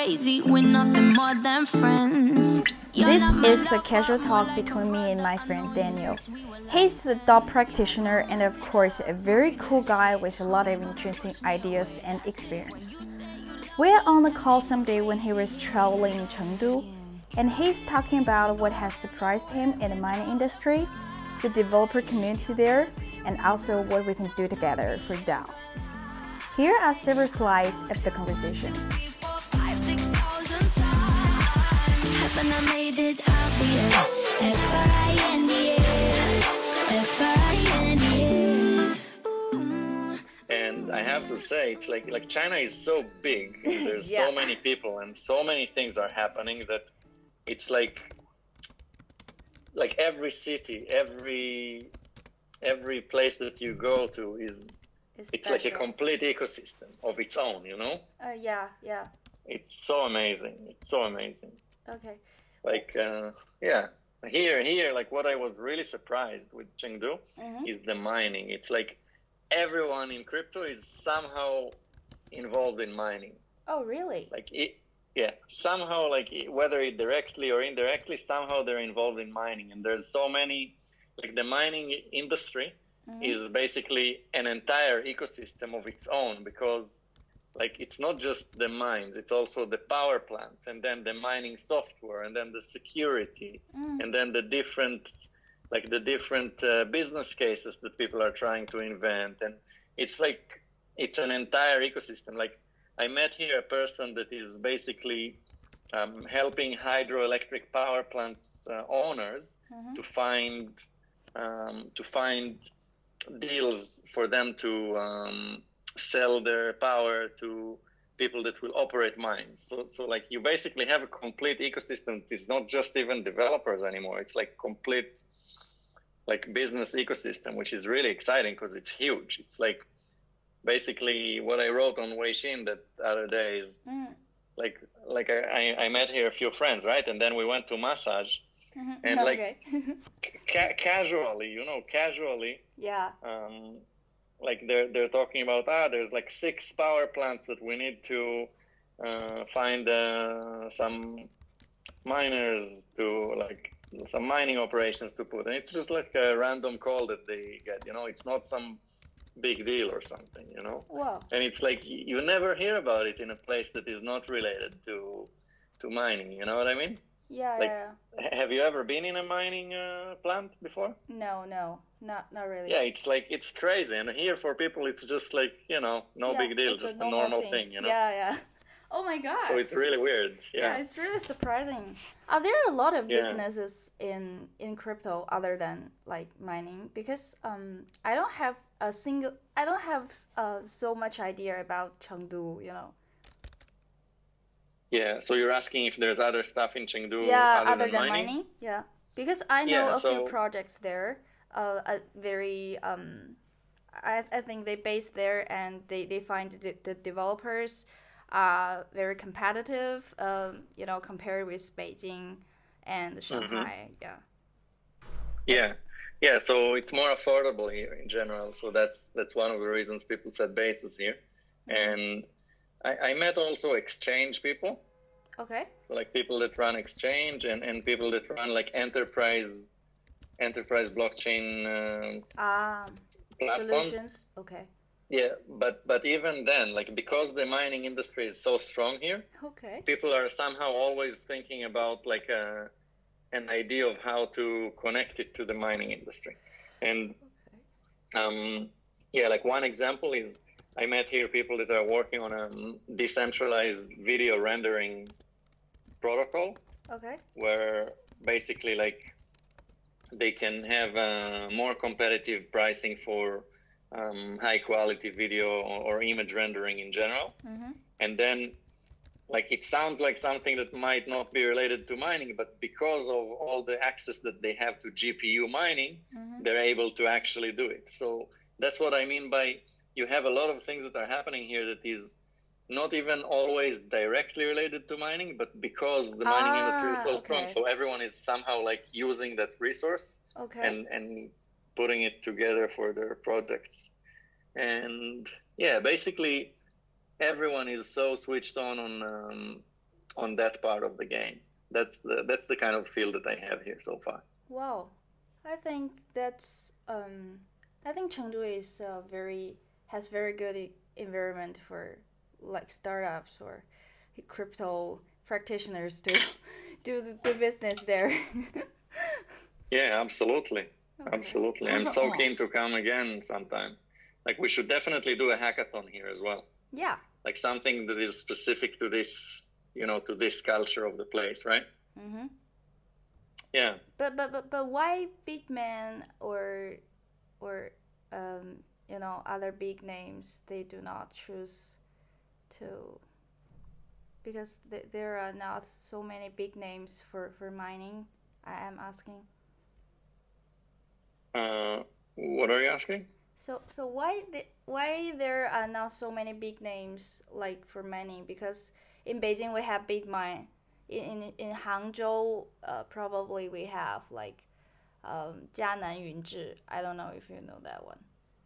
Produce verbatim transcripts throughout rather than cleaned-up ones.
crazy, we're nothing more than friends. This is a casual talk between me and my friend Daniel. He's a dog practitioner and of course a very cool guy with a lot of interesting ideas and experience. We are on the call someday when he was traveling in Chengdu, and he's talking about what has surprised him in the mining industry, the developer community there, and also what we can do together for DAO. Here are several slides of the conversation. And I have to say, it's like like China is so big, and there's Yeah. so many people, and so many things are happening that it's like like every city, every every place that you go to is It's, it's like a complete ecosystem of its own, you know? Uh, yeah, yeah. It's so amazing. It's so amazing. Okay. Like, uh, yeah, here, here, like what I was really surprised with Chengdu Mhm. is the mining. It's like everyone in crypto is somehow involved in mining. Oh, really? Like, it, yeah, somehow, like it- whether it directly or indirectly, somehow they're involved in mining. And there's so many, like the mining industry Mhm. is basically an entire ecosystem of its own, because like it's not just the mines, it's also the power plants, and then the mining software, and then the security, Mm. and then the different like the different uh, business cases that people are trying to invent. And it's like it's an entire ecosystem. Like I met here a person that is basically um, helping hydroelectric power plants uh, owners Mhm. to find um, to find deals for them to um, sell their power to people that will operate mines. So, so like you basically have a complete ecosystem. It's not just even developers anymore. It's like complete like business ecosystem, which is really exciting because it's huge. It's like basically what I wrote on Weixin that other day is Mm. like like I, I met here a few friends, right? And then we went to massage, Mhm. and like Okay. ca- casually, you know, casually, yeah. um, like they're they're talking about ah, there's like six power plants that we need to uh, find uh, some miners to like some mining operations to put, and it's just like a random call that they get. You know, it's not some big deal or something. You know, Wow. and it's like you never hear about it in a place that is not related to to mining. You know what I mean? Yeah, Like, yeah. H- have you ever been in a mining uh, plant before? No, no, not not really. Yeah, it's like it's crazy, and here for people it's just like, you know, no Yeah, big deal, it's just a normal normal thing, you know. Yeah, yeah. Oh my god. So it's really weird. yeah. Yeah. It's really surprising. Are there a lot of Yeah. businesses in in crypto other than like mining? Because um, I don't have a single. I don't have uh so much idea about Chengdu. You know. Yeah. So you're asking if there's other stuff in Chengdu Yeah, other, other than, than mining? mining. Yeah, because I know Yeah, a few so- projects there. Uh, a very um, I I think they base there and they they find the, the developers are very competitive. Um, you know, compared with Beijing and Shanghai. Yeah. Yeah. Yeah, so it's more affordable here in general. So that's that's one of the reasons people set bases here. And I, I met also exchange people. Okay. So like people that run exchange, and, and people that run like enterprise enterprise blockchain uh, Um, platforms. solutions. Okay. Yeah, but but even then, like because the mining industry is so strong here, Okay. people are somehow always thinking about like a, an idea of how to connect it to the mining industry. And um, yeah, like one example is I met here people that are working on a decentralized video rendering protocol Okay. where basically like they can have uh, more competitive pricing for um, high quality video or, or image rendering in general. Mm-hmm. And then like it sounds like something that might not be related to mining, but because of all the access that they have to G P U mining, Mm-hmm. they're able to actually do it. So that's what I mean by you have a lot of things that are happening here that is not even always directly related to mining, but because the mining Ah, industry is so strong, okay. so everyone is somehow like using that resource Okay. and and putting it together for their projects. And yeah, basically everyone is so switched on on um, on that part of the game. That's the that's the kind of feel that I have here so far. Wow, I think that's um, I think Chengdu is uh, very has very good e- environment for like startups or crypto practitioners to do the, the business there. Yeah, absolutely, Okay. absolutely. I'm so keen to come again sometime. Like we should definitely do a hackathon here as well. Yeah. Like something that is specific to this, you know, to this culture of the place, right? Mm-hmm. Yeah. But but but but why big man or or um you know other big names they do not choose to because th- there are not so many big names for for mining. I am asking. Uh, what are you asking? So so why the, why there are not so many big names like for mining? Because in Beijing we have big mine. In in, in Hangzhou, uh, probably we have like um, Jianan Yunzhi. I don't know if you know that one.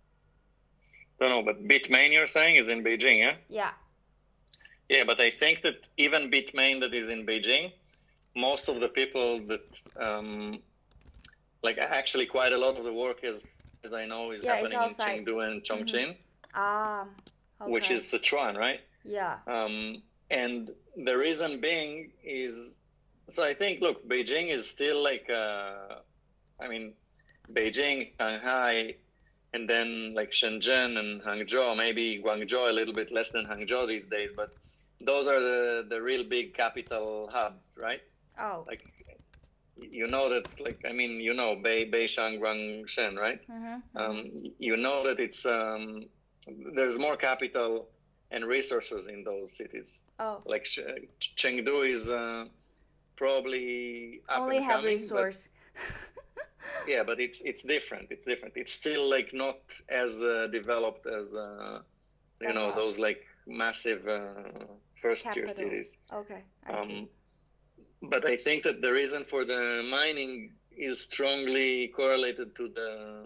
Don't know, but Bitmain you're saying is in Beijing, yeah? Yeah. Yeah, but I think that even Bitmain that is in Beijing, most of the people that, um, like actually quite a lot of the work is, as I know, is Yeah, it's happening in outside. Chengdu and Chongqing, Ah. Okay. which is Sichuan, right? Yeah. Um, and the reason being is, so I think, look, Beijing is still like, uh, I mean, Beijing, Shanghai, and then like Shenzhen and Hangzhou, maybe Guangzhou a little bit less than Hangzhou these days, but those are the, the real big capital hubs, right? Oh. Like, you know that, like, I mean, you know, Bei, Beishang, Guangshen, right? Mm-hmm. Um, you know that it's, um, there's more capital and resources in those cities. Oh. Like Ch- Chengdu is uh, probably up Only and have coming, resource. but, yeah, but it's it's different. It's different. It's still like not as uh, developed as uh, you know Uh-huh. those like massive uh, first tier Capital. cities. Okay, I Um, see. but I think that the reason for the mining is strongly correlated to the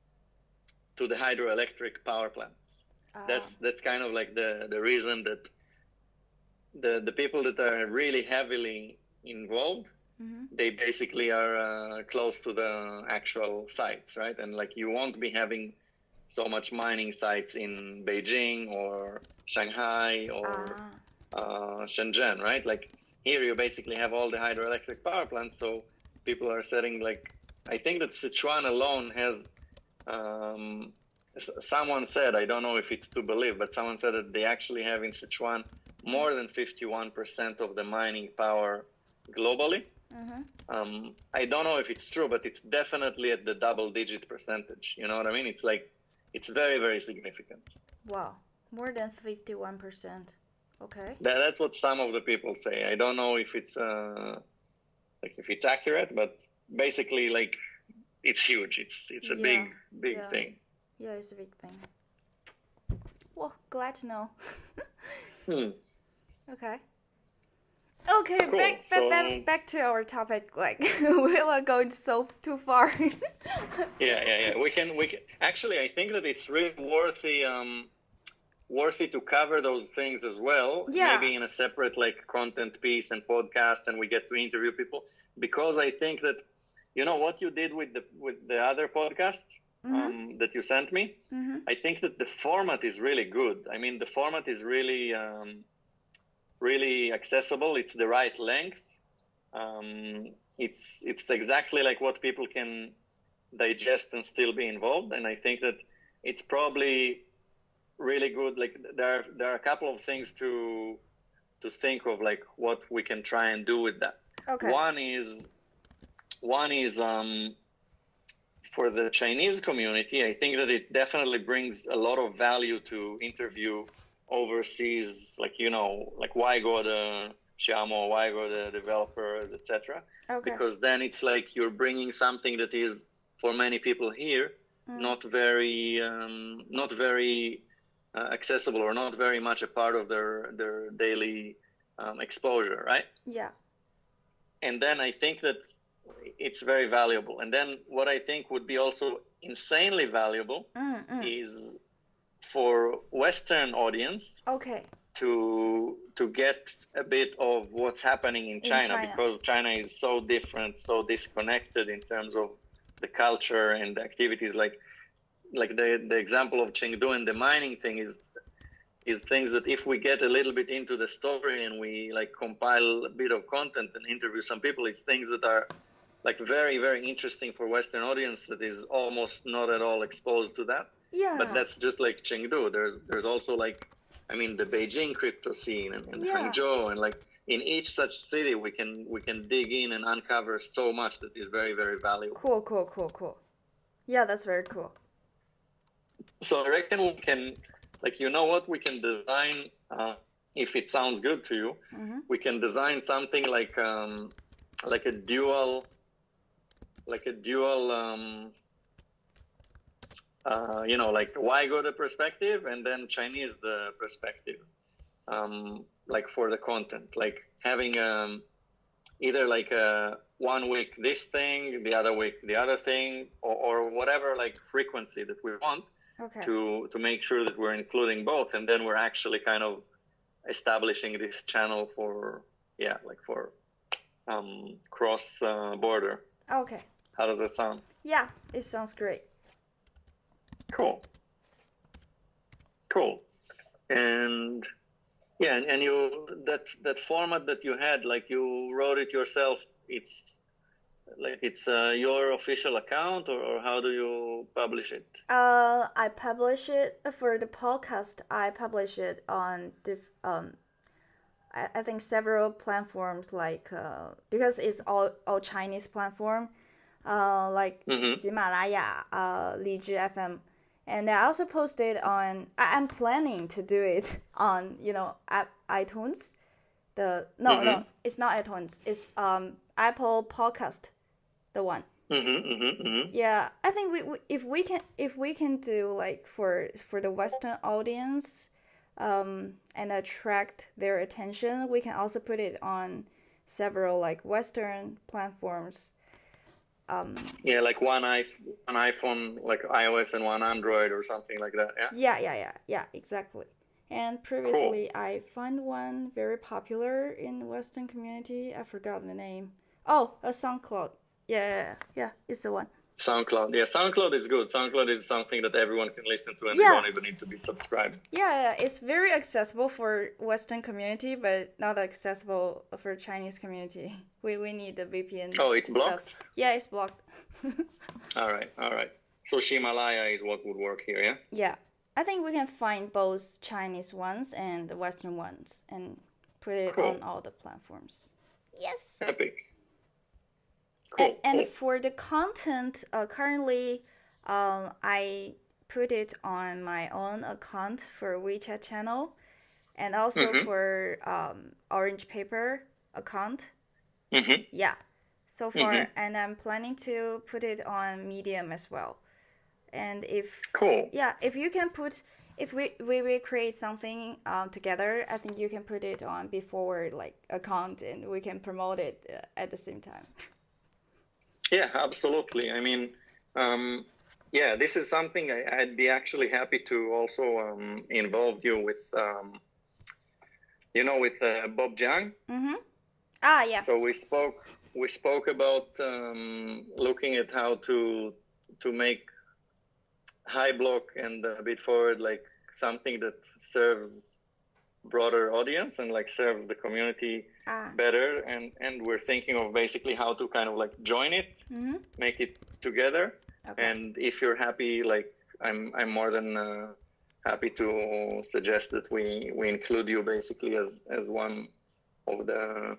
to the hydroelectric power plants. Ah. That's that's kind of like the, the reason that the the people that are really heavily involved, Mm-hmm. they basically are uh, close to the actual sites, right? And like you won't be having so much mining sites in Beijing or Shanghai or Ah. uh, Shenzhen, right? Like here you basically have all the hydroelectric power plants, so people are setting like, I think that Sichuan alone has, um, s- someone said, I don't know if it's to believe, but someone said that they actually have in Sichuan more than fifty-one percent of the mining power globally. Mm-hmm. Um, I don't know if it's true, but it's definitely at the double digit percentage. You know what I mean? It's like, it's very, very significant. Wow, more than fifty-one percent. Okay. That, that's what some of the people say. I don't know if it's uh, like if it's accurate, but basically, like it's huge. It's it's a Yeah, big big yeah. thing. Yeah, it's a big thing. Well, glad to know. Hmm. Okay. Okay, Cool. back, So- back back back to our topic. Like we were going so too far. Yeah, yeah, yeah. We can we can actually. I think that it's really worthy um worthy to cover those things as well. Yeah. Maybe in a separate like content piece and podcast, and we get to interview people because I think that you know what you did with the with the other podcast um, that you sent me. Mm-hmm. I think that the format is really good. I mean, the format is really, um, really accessible. It's the right length. Um, it's it's exactly like what people can digest and still be involved. And I think that it's probably really good. Like there are, there are a couple of things to to think of, like what we can try and do with that. Okay. One is one is um, for the Chinese community. I think that it definitely brings a lot of value to interview overseas, like you know, like why go the Xiaomo, why go the developers, et cetera. Okay. Because then it's like you're bringing something that is for many people here not very um, not very uh, accessible or not very much a part of their their daily um, exposure, right? Yeah. And then I think that it's very valuable. And then what I think would be also insanely valuable Mm-mm. is for Western audience Okay. to to get a bit of what's happening in China, in China, because China is so different, so disconnected in terms of the culture and the activities. Like like the the example of Chengdu and the mining thing is is things that if we get a little bit into the story and we like compile a bit of content and interview some people, it's things that are like very, very interesting for Western audience that is almost not at all exposed to that. yeah, But that's just like Chengdu. There's there's also like, I mean, the Beijing crypto scene and, and Yeah. Hangzhou, and like in each such city we can we can dig in and uncover so much that is very, very valuable. cool, cool, cool, cool. Yeah, that's very cool. So I reckon we can, like, you know what, we can design, uh, if it sounds good to you, Mm-hmm. we can design something like um, like a dual, like a dual, um, uh, you know, like Weigo the perspective and then Chinese the perspective, um, like for the content, like having um, either like a one week this thing, the other week the other thing, or, or whatever like frequency that we want. Okay. to to make sure that we're including both, and then we're actually kind of establishing this channel for yeah like for um cross uh, border. Okay. How does that sound? Yeah, it sounds great. Cool cool and yeah, and, and you that that format that you had, like you wrote it yourself, it's like it's uh, your official account, or, or how do you publish it? Uh, I publish it for the podcast. I publish it on the um, I, I think several platforms, like uh, because it's all all Chinese platform, uh, like Mhm. 喜马拉雅, uh, 荔枝 F M, and I also posted on. I, I'm planning to do it on you know app, iTunes. The no no, it's not iTunes. It's um Apple Podcast, the one. Mm-hmm, mm-hmm, mm-hmm. Yeah, I think we, we if we can if we can do like for for the Western audience, um, and attract their attention, we can also put it on several like Western platforms. Um, Yeah, like one iPhone, one iPhone, like iOS, and one Android, or something like that. Yeah. yeah, yeah, yeah, yeah, exactly. And previously, I found one very popular in the Western community. I forgot the name. Oh, a SoundCloud. Yeah, yeah, yeah, it's the one. SoundCloud. Yeah, SoundCloud is good. SoundCloud is something that everyone can listen to, and Yeah. they don't even need to be subscribed. Yeah, yeah, it's very accessible for Western community, but not accessible for Chinese community. We we need the V P N. Oh, it's stuff. blocked? Yeah, it's blocked. All right, all right. So Himalaya is what would work here, yeah? Yeah, I think we can find both Chinese ones and the Western ones and put it Cool. on all the platforms. Yes. Epic. Cool. And, and cool. for the content, uh, currently, um, I put it on my own account for WeChat channel, and also Mhm. for um, Orange Paper account. Mm-hmm. Yeah, so far, Mhm. and I'm planning to put it on Medium as well. And if Cool. yeah, if you can put, if we we will create something um, together, I think you can put it on before like account, and we can promote it uh, at the same time. Yeah, absolutely. I mean, um, yeah, this is something I, I'd be actually happy to also um, involve you with, um, you know, with uh, Bob Jiang. Mm-hmm. Ah, yeah. So we spoke we spoke about um, looking at how to to make High Block and a bit forward like something that serves broader audience and like serves the community Ah. better, and and we're thinking of basically how to kind of like join it, Mm-hmm. make it together. Okay. And if you're happy, like I'm I'm more than uh, happy to suggest that we we include you basically as as one of the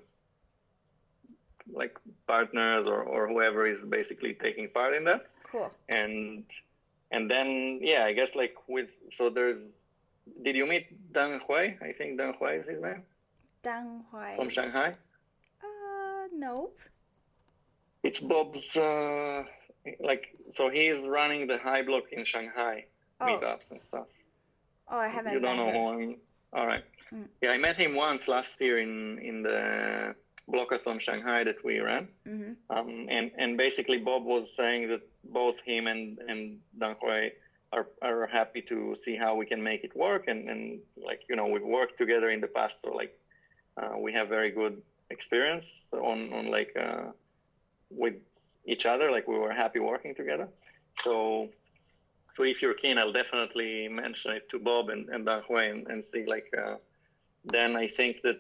like partners, or, or whoever is basically taking part in that. Cool. And and then yeah, I guess like with so there's did you meet Deng Hui? I think Deng Hui is his name, Dang Huai. from Shanghai. Uh, nope. It's Bob's uh, like so he's running the High Block in Shanghai Oh. meetups and stuff. Oh, I haven't You don't met know her. who I'm. All right. Mm. Yeah, I met him once last year in in the Blockathon Shanghai that we ran. Mm-hmm. Um, and, and basically Bob was saying that both him and, and Deng Hui are are happy to see how we can make it work, and and like you know we've worked together in the past, so like uh, we have very good experience on on like uh, with each other. Like we were happy working together. So so if you're keen, I'll definitely mention it to Bob and and Dan Hui and, and see like uh, then I think that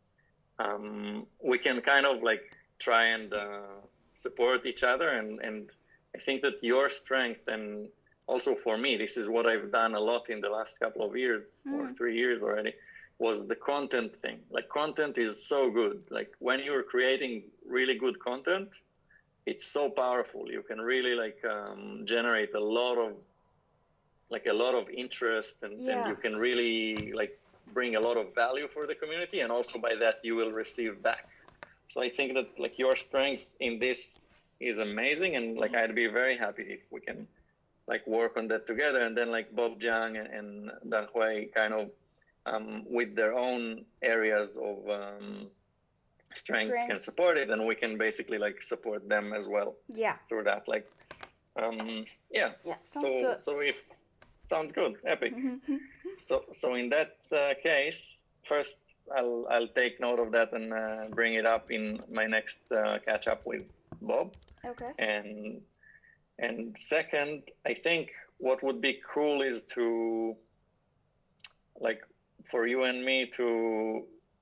um, we can kind of like try and uh, support each other, and and I think that your strength, and also for me, this is what I've done a lot in the last couple of years mm. or three years already, was the content thing. Like content is so good. Like when you're creating really good content, it's so powerful. You can really like um, generate a lot of like a lot of interest, and, yeah. and you can really like bring a lot of value for the community, and also by that you will receive back. So I think that like your strength in this is amazing, and like I'd be very happy if we can like work on that together, and then like Bob Jiang and, and Dan Hui kind of um, with their own areas of um, strength, strength can support it, and we can basically like support them as well. Yeah. Through that, like, um, yeah. Yeah. Sounds so, good. So if sounds good, epic. so so in that uh, case, first I'll I'll take note of that and uh, bring it up in my next uh, catch up with Bob. Okay. And and second, I think what would be cool is to like for you and me to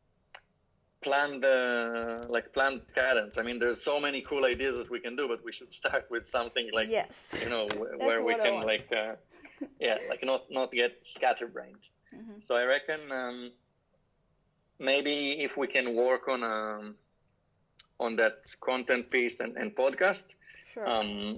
plan the like plan cadence. I mean, there's so many cool ideas that we can do, but we should start with something like yes. you know w- where we can like uh, yeah like not not get scatterbrained. Mm-hmm. So I reckon um, maybe if we can work on um on that content piece and, and podcast. Sure. Um,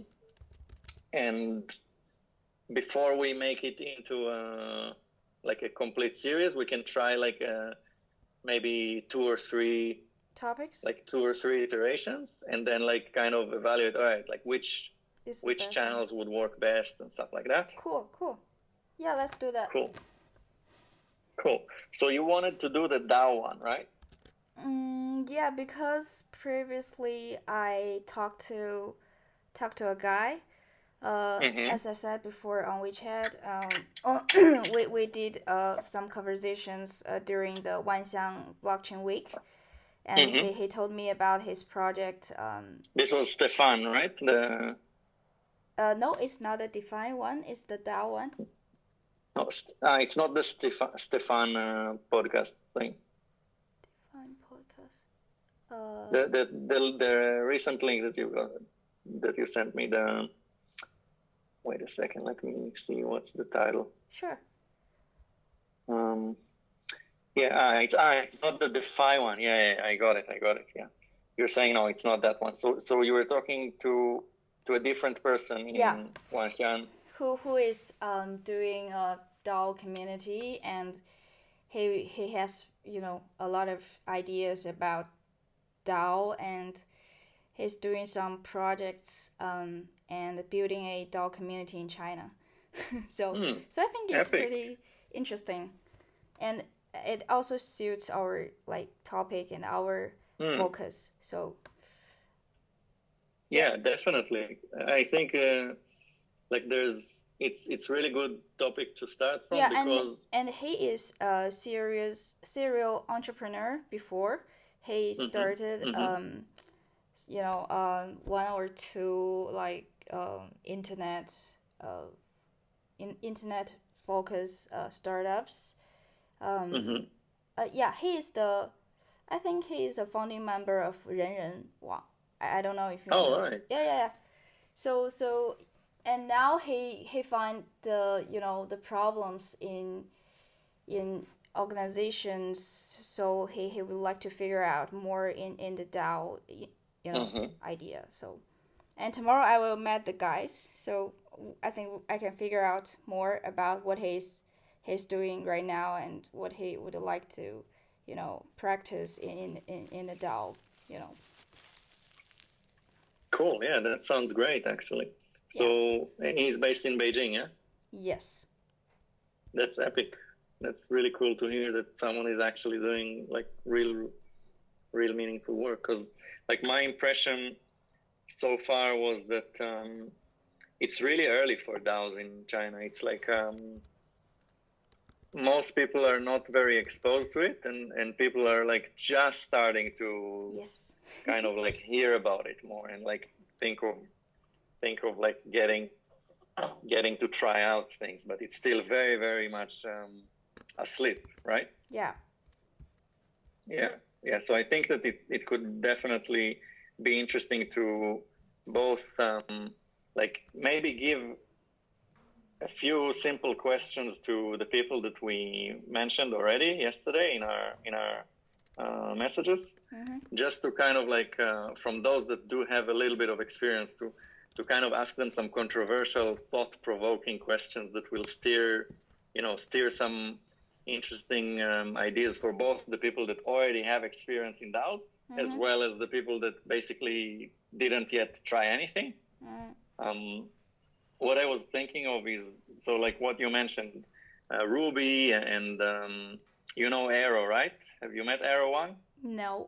and before we make it into a, like a complete series, we can try like a, maybe two or three topics, like two or three iterations, and then like kind of evaluate, all right, like which Is which channels would work best and stuff like that. Cool, cool. Yeah, let's do that. Cool. Cool. So you wanted to do the DAO one, right? Mm, yeah, because previously I talked to talked to a guy. Uh, mm-hmm. As I said before on WeChat, um, we we did uh some conversations uh, during the Wanxiang Blockchain Week, and mm-hmm. he, he told me about his project. Um, this was Stefan, right? The uh no, it's not the Define one. It's the DAO one. No, uh, it's not the Stefan Stefan uh, podcast thing. Define podcast. Uh, the, the the the recent link that you got, that you sent me. The wait a second, let me see what's the title. Sure. Um, yeah, ah, it's ah, it's not the DeFi one. Yeah, yeah, I got it, I got it. Yeah, you're saying no, it's not that one. So so you were talking to to a different person in yeah. Wanxiang. Who who is um doing a DAO community, and he he has you know a lot of ideas about DAO, and he's doing some projects um and building a DAO community in China. so mm, so I think it's epic. pretty interesting, and it also suits our like topic and our mm. focus. So yeah, definitely. I think uh, like there's it's it's really good topic to start from yeah, because and, and he is a serious serial entrepreneur before. He started, mm-hmm. um, you know, um, one or two like um, internet, uh, in internet focus uh, startups. Um, mm-hmm. uh, yeah, he is the, I think he is a founding member of Renren Wang. I, I don't know if you know. Oh, right. Yeah, yeah, yeah. So so, and now he he find the you know the problems in, in. organizations, so he, he would like to figure out more in, in the DAO, you know, mm-hmm. idea. So, and tomorrow I will meet the guys, so I think I can figure out more about what he's he's doing right now and what he would like to, you know, practice in in, in the DAO, you know. Cool, yeah, that sounds great actually. So yeah. He's based in Beijing, yeah? Yes. That's epic. That's really cool to hear that someone is actually doing like real, real meaningful work. Because like my impression so far was that um, it's really early for DAOs in China. It's like um, most people are not very exposed to it, and, and people are like just starting to Yes. kind of like hear about it more and like think of think of like getting getting to try out things, but it's still very, very much um, asleep, right? Yeah. Yeah, yeah. So I think that it it could definitely be interesting to both um, like maybe give a few simple questions to the people that we mentioned already yesterday in our in our uh, messages, Mm-hmm. just to kind of like uh, from those that do have a little bit of experience to to kind of ask them some controversial, thought-provoking questions that will steer, you know, steer some interesting um, ideas for both the people that already have experience in DAOs, mm-hmm. as well as the people that basically didn't yet try anything. Mm-hmm. Um, what I was thinking of is, so like what you mentioned, uh, Ruby and, um, you know, Arrow, right? Have you met Arrow One? No.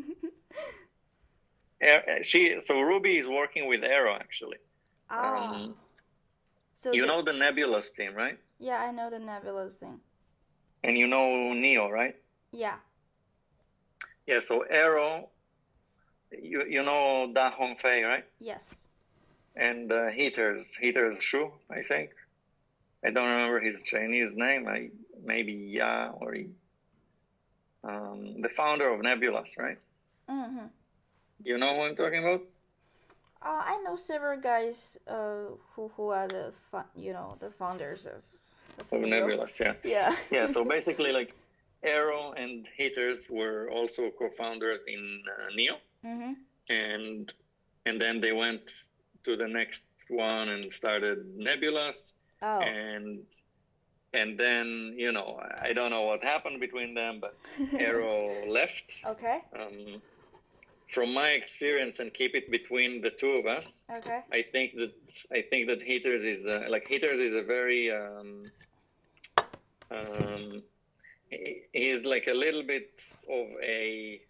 She so Ruby is working with Arrow actually. Ah. Um, so you the, know the Nebulous team, right? Yeah, I know the Nebulous thing. And you know Neo, right? Yeah. Yeah. So Arrow, you you know Da Hongfei, right? Yes. And uh, Heaters Heaters Shu, I think. I don't remember his Chinese name. I maybe Ya or Yi. Um, the founder of Nebulous, right? Mm-hmm. You know who I'm talking about? Uh, I know several guys uh, who who are the you know the founders of, of, of Nebulous, yeah. Yeah. Yeah. So basically, like Arrow and Heaters were also co-founders in uh, Neo, mm-hmm. and and then they went to the next one and started Nebulous, oh. and and then you know I don't know what happened between them, but Arrow left. Okay. Um, From my experience, and keep it between the two of us, okay. I think that I think that Heaters is uh, like Heaters is a very um, um, he, he's like a little bit of a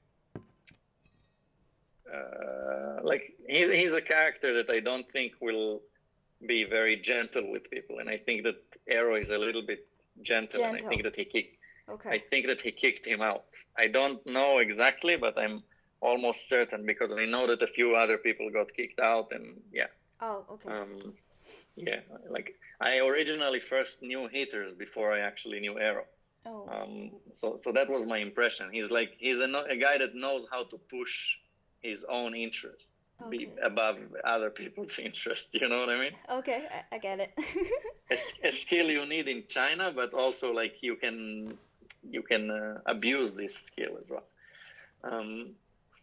uh, like he's he's a character that I don't think will be very gentle with people, and I think that Arrow is a little bit gentle, gentle. and I think that he kicked. Okay. I think that he kicked him out. I don't know exactly, but I'm almost certain because I know that a few other people got kicked out, and yeah. Oh, okay. Um, yeah, like I originally first knew Heaters before I actually knew Arrow. Oh. Um, so so that was my impression. He's like he's a, a guy that knows how to push his own interest okay. be above other people's interest. You know what I mean? Okay, I, I get it. a, a skill you need in China, but also like you can you can uh, abuse this skill as well. Um,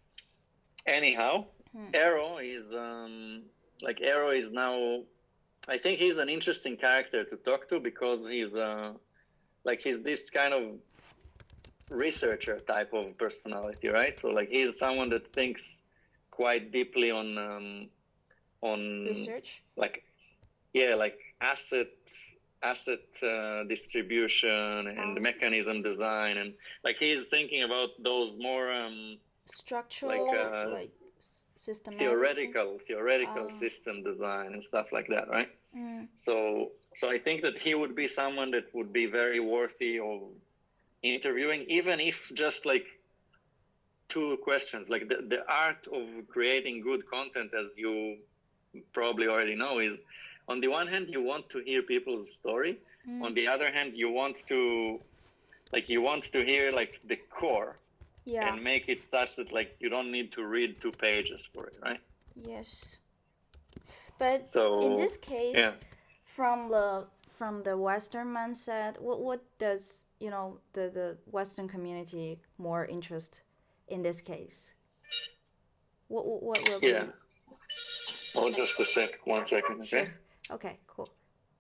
Anyhow, hmm. Arrow is um, like Arrow is now. I think he's an interesting character to talk to because he's uh, like he's this kind of researcher type of personality, right? So like he's someone that thinks quite deeply on um, on research, like yeah, like asset asset uh, distribution and oh. mechanism design, and like he's thinking about those more. Um, structural like, uh, like systematic theoretical theoretical oh. system design and stuff like that, right? Mm. so so I think that he would be someone that would be very worthy of interviewing, even if just like two questions. Like the, the art of creating good content, as you probably already know, is on the one hand you want to hear people's story, mm. on the other hand you want to like you want to hear like the core. Yeah. And make it such that like you don't need to read two pages for it, right? Yes. But so, in this case, yeah. from the from the Western mindset, what what does you know the, the Western community more interest in this case? What what, what will yeah. be? Oh, just a sec, one second, okay? Sure. Okay, cool.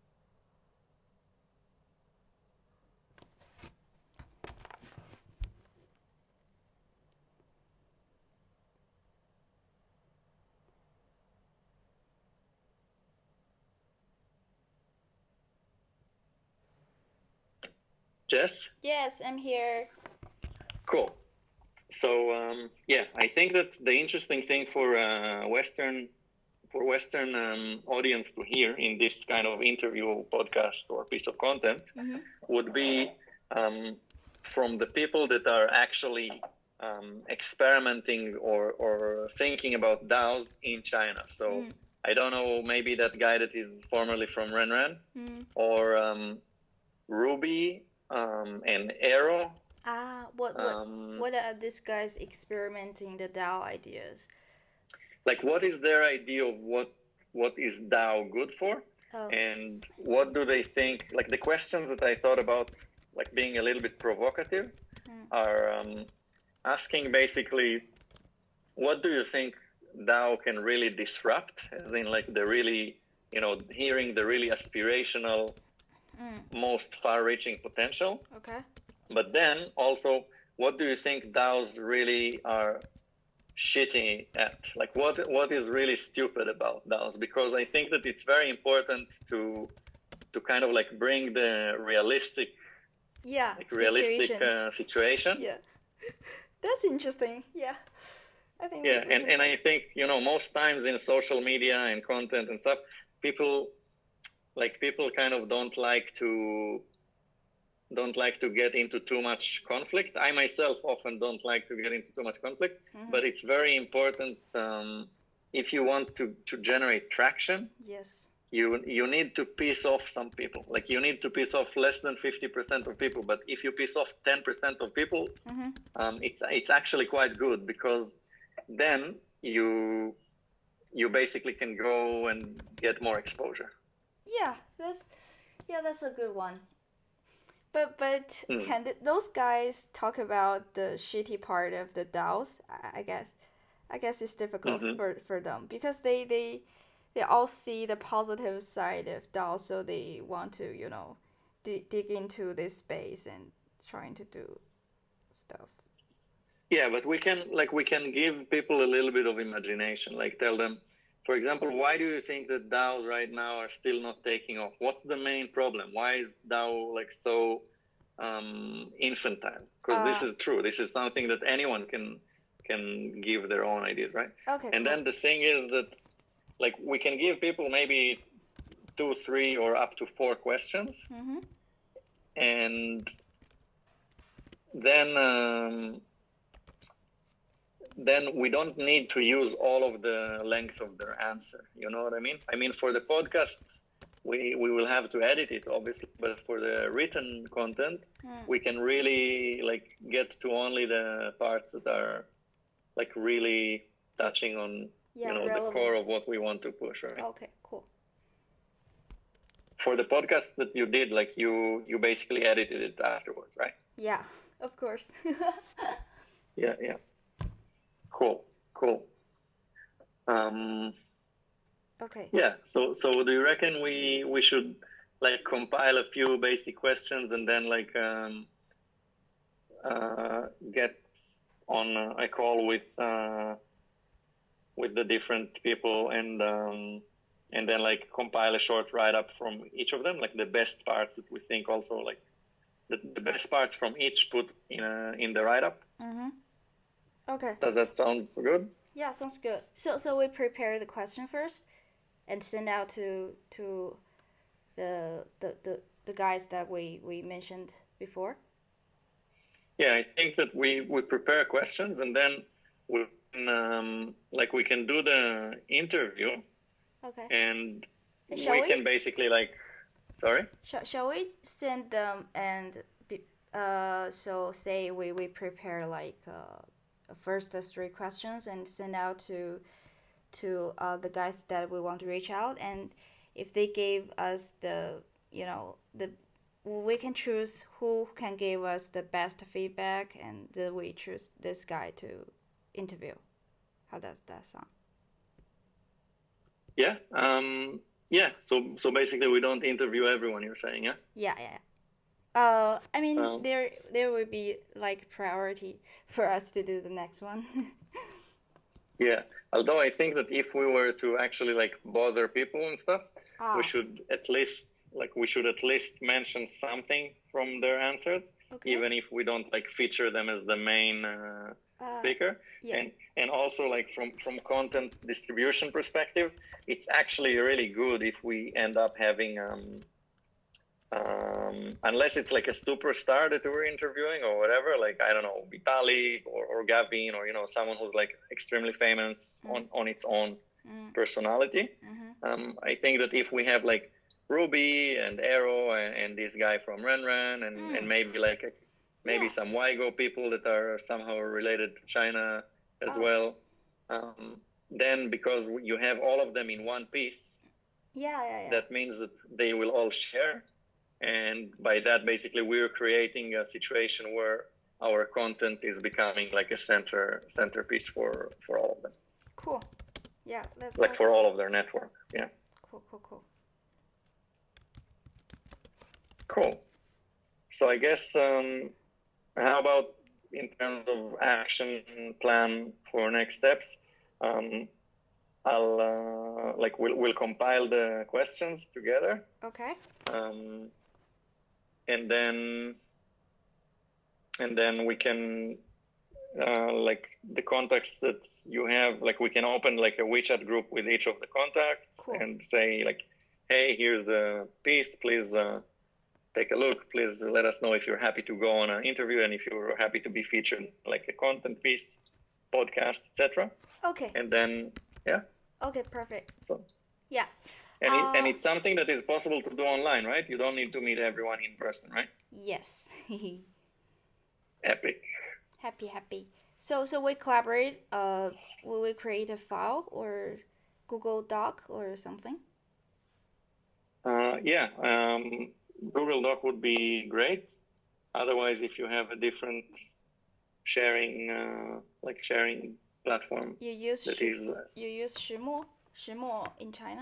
Jess? Yes, I'm here. Cool. So um, yeah, I think that the interesting thing for uh, Western for Western um, audience to hear in this kind of interview, podcast, or piece of content mm-hmm. would be um, from the people that are actually um, experimenting or, or thinking about DAOs in China. So mm. I don't know, maybe that guy that is formerly from RenRen mm. or um, Ruby um, and Aero. Ah, what what, um, what are these guys experimenting the DAO ideas? Like, what is their idea of what what is DAO good for, oh. and what do they think? Like the questions that I thought about, like being a little bit provocative, mm. are um, asking basically, what do you think DAO can really disrupt? As in, like the really, you know, hearing the really aspirational, mm. most far-reaching potential. Okay. But then also, what do you think DAOs really are shitty at? Like, what what is really stupid about DAOs? Because I think that it's very important to to kind of like bring the realistic, yeah, like realistic situation. Uh, situation. Yeah, that's interesting. Yeah, I think. Yeah, and and I think, you know, most times in social media and content and stuff, people like people kind of don't like to. don't like to get into too much conflict. I myself often don't like to get into too much conflict, mm-hmm. but it's very important um, if you want to, to generate traction. Yes. You you need to piss off some people. Like you need to piss off less than fifty percent of people. But if you piss off ten percent of people, mm-hmm. um, it's it's actually quite good, because then you you basically can go and get more exposure. Yeah, that's yeah, that's a good one. But but mm. can th- those guys talk about the shitty part of the DAOs? I, I guess I guess it's difficult mm-hmm. for, for them, because they, they they all see the positive side of DAOs, so they want to, you know, d- dig into this space and trying to do stuff. Yeah, but we can like we can give people a little bit of imagination. Like tell them, for example, why do you think that DAOs right now are still not taking off? What's the main problem? Why is DAO like so um, infantile? Because uh, this is true. This is something that anyone can can give their own ideas, right? Okay. And cool. then the thing is that, like, we can give people maybe two, three, or up to four questions, mm-hmm. and then. Um, then we don't need to use all of the length of their answer. You know what I mean? I mean, for the podcast, we, we will have to edit it, obviously, but for the written content, mm. we can really like get to only the parts that are like really touching on, yeah, you know, relevant. The core of what we want to push, right? Okay, cool. For the podcast that you did, like you, you basically edited it afterwards, right? Yeah, of course. yeah, yeah. Cool, cool. Um, okay. Yeah. So, so do you reckon we we should like compile a few basic questions and then like um, uh, get on a call with uh, with the different people and um, and then like compile a short write up from each of them, like the best parts that we think also like the, the best parts from each put in a, in the write up. Mm-hmm. Okay. Does that sound good? Yeah, sounds good. So so we prepare the question first and send out to to the the, the, the guys that we, we mentioned before? Yeah, I think that we, we prepare questions and then we can, um, like we can do the interview. Okay. And shall we, we can basically like, sorry? Shall, shall we send them and be, uh so say we, we prepare like uh first the three questions and send out to to uh, the guys that we want to reach out, and if they gave us the, you know, the we can choose who can give us the best feedback, and then we choose this guy to interview. How does that sound? Yeah. Um yeah, so so basically we don't interview everyone, you're saying, yeah? Yeah, yeah. Uh, I mean, um, there there would be like priority for us to do the next one. Yeah, although I think that if we were to actually like bother people and stuff, ah. we should at least like we should at least mention something from their answers, okay. even if we don't like feature them as the main uh, Uh, speaker. yeah. And and also like from from content distribution perspective, it's actually really good if we end up having um, um, unless it's like a superstar that we're interviewing or whatever, like I don't know, Vitalik or, or Gavin or you know someone who's like extremely famous mm. on on its own mm. personality. Mm-hmm. Um, I think that if we have like Ruby and Aero and, and this guy from Renren and, mm. and maybe like a, maybe yeah. some Weigo people that are somehow related to China as oh. well, um, then because you have all of them in one piece, yeah, yeah, yeah. that means that they will all share. And by that, basically, we're creating a situation where our content is becoming like a center centerpiece for, for all of them. Cool. Yeah. That's like awesome. For all of their network. Yeah. Cool, cool, cool. Cool. So I guess, um, how about in terms of action plan for next steps? Um, I'll uh, like we'll we'll compile the questions together. Okay. Um, and then and then we can uh, like the contacts that you have, like we can open like a WeChat group with each of the contacts cool. and say like, hey, here's the piece, please uh, take a look, please let us know if you're happy to go on an interview and if you're happy to be featured like a content piece, podcast, et cetera. Okay. And then yeah. Okay, perfect. So yeah. And, uh, it, and it's something that is possible to do online, right? You don't need to meet everyone in person, right? Yes. Epic. Happy, happy. So, so we collaborate. Uh, will we create a file or Google Doc or something? Uh, yeah, um, Google Doc would be great. Otherwise, if you have a different sharing, uh, like sharing platform, you use that Sh- is. Uh, you use Shimo, Shimo in China.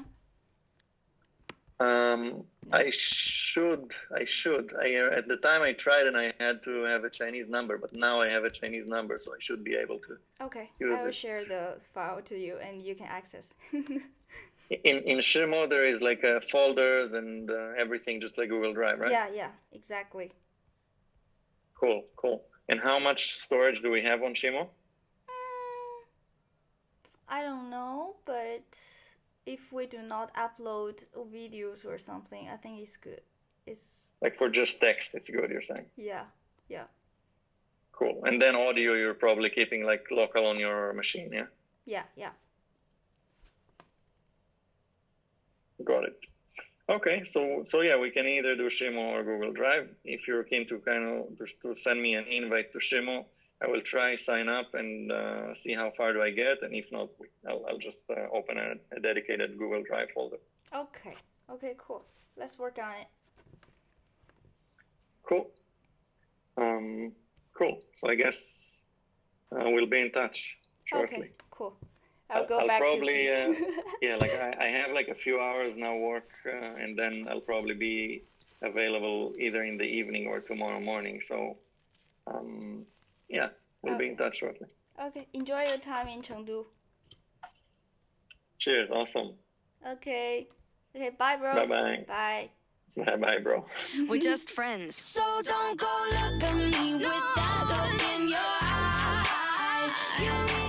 Um, I should, I should. I, uh, at the time I tried and I had to have a Chinese number, but now I have a Chinese number, so I should be able to okay. use I will it. share the file to you and you can access. in in Shimo, there is like uh, folders and uh, everything, just like Google Drive, right? Yeah, yeah, exactly. Cool, cool. And how much storage do we have on Shimo? Mm, I don't know, but if we do not upload videos or something, I think it's good. It's like for just text, it's good, you're saying? Yeah, yeah. Cool. And then audio, you're probably keeping like local on your machine, yeah? Yeah, yeah. Got it. Okay, so so yeah, we can either do Shimo or Google Drive. If you're keen to kind of to, to send me an invite to Shimo, I will try sign up and uh, see how far do I get, and if not, I'll, I'll just uh, open a, a dedicated Google Drive folder. Okay. Okay. Cool. Let's work on it. Cool. Um. Cool. So I guess uh, we'll be in touch shortly. Okay. Cool. I'll, I'll go I'll back probably, to see. uh, yeah, like I, I have like a few hours now work, uh, and then I'll probably be available either in the evening or tomorrow morning. So, um. Yeah, we'll okay. be in touch shortly. Okay, enjoy your time in Chengdu. Cheers, awesome. Okay. Okay, bye, bro. Bye-bye. Bye. Bye-bye, bro. We're just friends. So don't go look at me with that look in your eye. You